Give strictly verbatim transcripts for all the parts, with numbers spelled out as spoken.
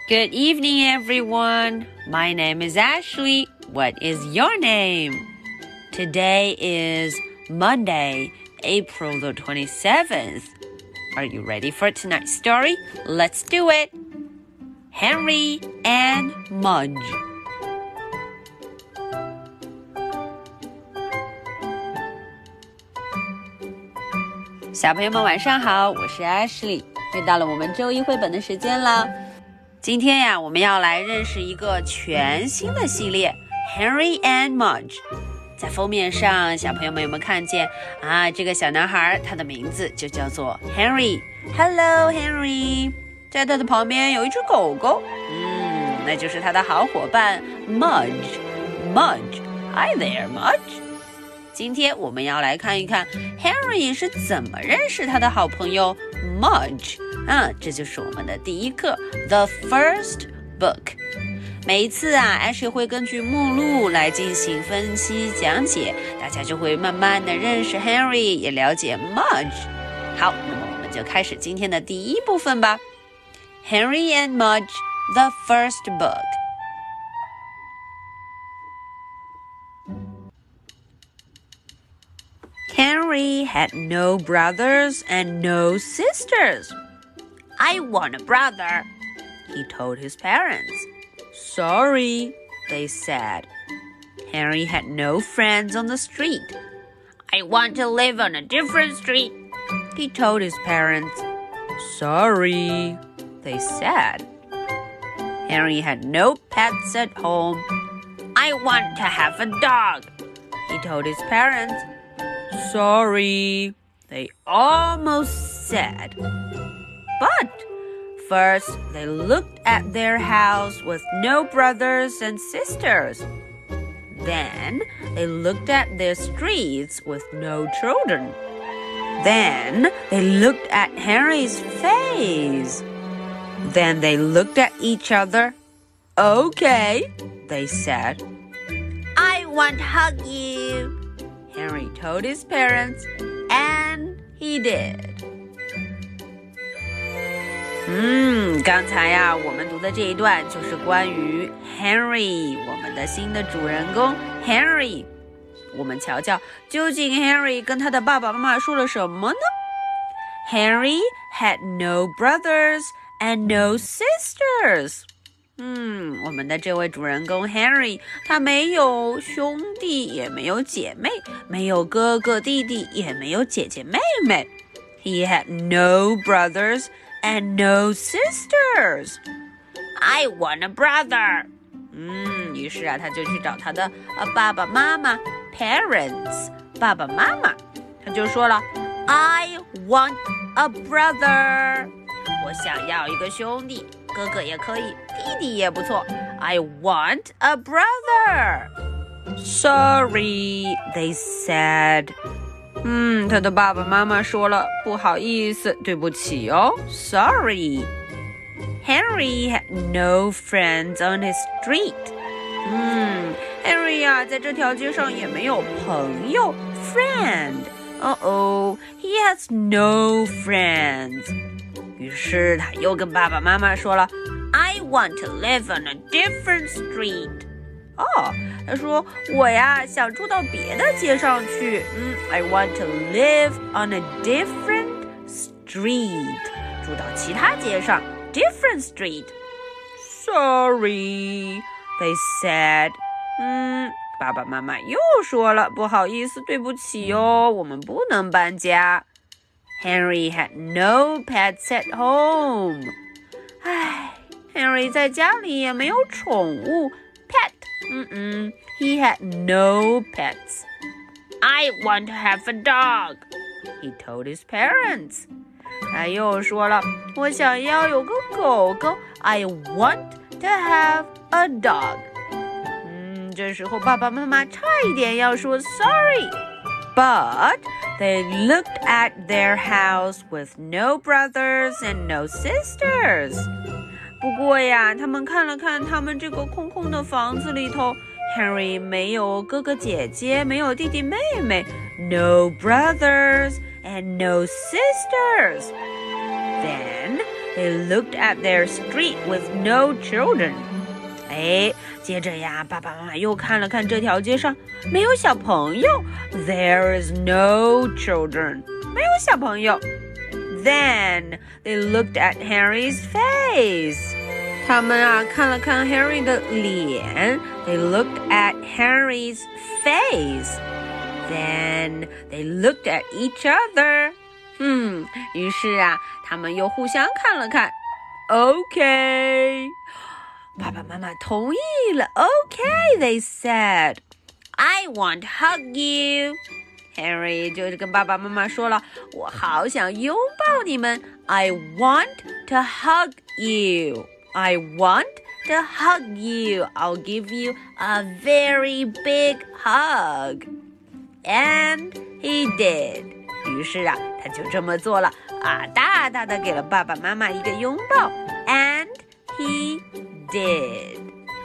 Good evening, everyone. My name is Ashley. What is your name? Today is Monday, April the twenty-seventh. Are you ready for tonight's story? Let's do it. Henry and Mudge.小朋友们晚上好，我是 Ashley， 又到了我们周一绘本的时间了。今天呀，我们要来认识一个全新的系列 Henry and Mudge。在封面上，小朋友们有没有看见啊？这个小男孩他的名字就叫做 Henry。Hello Henry， 在他的旁边有一只狗狗，嗯，那就是他的好伙伴 Mudge。Mudge，Hi there Mudge。今天我们要来看一看 Henry 是怎么认识他的好朋友 Mudge。嗯，这就是我们的第一课 The First Book。 每一次啊 Ashley 会根据目录来进行分析讲解，大家就会慢慢的认识 Henry， 也了解 Mudge。 好，那么我们就开始今天的第一部分吧。 Henry and Mudge The First Book。 Henry had no brothers and no sisters.I want a brother, he told his parents. Sorry, they said. Henry had no friends on the street. I want to live on a different street, he told his parents. Sorry, they said. Henry had no pets at home. I want to have a dog, he told his parents. Sorry, they almost said.But first, they looked at their house with no brothers and sisters. Then, they looked at their streets with no children. Then, they looked at Henry's face. Then they looked at each other. Okay, they said. I want to hug you, Henry told his parents, and he did.嗯，刚才呀，我们读的这一段就是关于 Henry， 我们的新的主人公 Henry。 我们瞧瞧，究竟 Henry 跟他的爸爸妈妈说了什么呢？ Henry had no brothers and no sisters。 嗯，我们的这位主人公 Henry， 他没有兄弟，也没有姐妹，没有哥哥弟弟，也没有姐姐妹妹。 He had no brothers.And no sisters. I want a brother. 嗯，于是啊，他就去找他的呃爸爸妈妈 parents 爸爸妈妈，他就说了 I want a brother. 我想要一个兄弟，哥哥也可以，弟弟也不错。I want a brother. Sorry, they said.嗯，他的爸爸妈妈说了，不好意思，对不起哦 Sorry. Henry had no friends on his street. 嗯 Henry 啊，在这条街上也没有朋友 Friend. Uh-oh, he has no friends. 于是他又跟爸爸妈妈说了 I want to live on a different street.哦，他说我呀想住到别的街上去。嗯 I want to live on a different street， 住到其他街上 different street. Sorry, they said. 嗯，爸爸妈妈又说了，不好意思，对不起哦，我们不能搬家。Henry had no pets at home. 唉 Henry 在家里也没有宠物 pet。Mm-mm, he had no pets. I want to have a dog, he told his parents. 他又说了，我想要有个狗狗 I want to have a dog. 嗯，这时候爸爸妈妈差一点要说 sorry. But they looked at their house with no brothers and no sisters.不过呀，他们看了看他们这个空空的房子里头 Henry 没有哥哥姐姐，没有弟弟妹妹 No brothers and no sisters. Then they looked at their street with no children. 哎，接着呀，爸爸妈妈又看了看这条街上，没有小朋友。There is no children. 没有小朋友。Then they looked at Henry's face. 他们啊看了看 Henry 的脸。They looked at Henry's face. Then they looked at each other. 嗯，于是啊，他们又互相看了看。Okay. 爸爸妈妈同意了。Okay, they said. I want to hug you. Henry 就跟爸爸妈妈说了，我好想拥抱你们。I want to hug you. I want to hug you. I'll give you a very big hug. And he did. 于是啊，他就这么做了啊，大大的给了爸爸妈妈一个拥抱。And he did.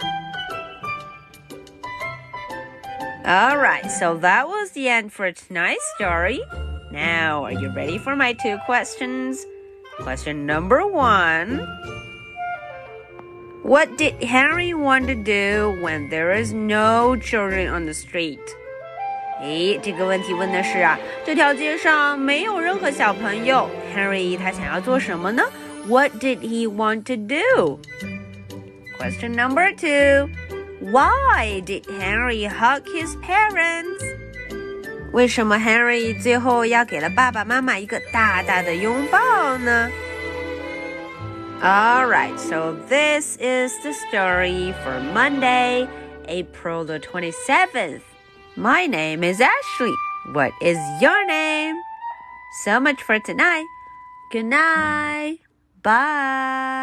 Alright, so that was the end for tonight's story. Now, are you ready for my two questions? Question number one. What did Henry want to do when there is no children on the street? 诶，这个问题问的是啊，这条街上没有任何小朋友 Henry 他想要做什么呢？ What did he want to do? Question number two. Why did Henry hug his parents? 为什么 Henry 最后要给了爸爸妈妈一个大大的拥抱呢？ Alright, so this is the story for Monday, April the twenty-seventh. My name is Ashley. What is your name? So much for tonight. Good night. Bye.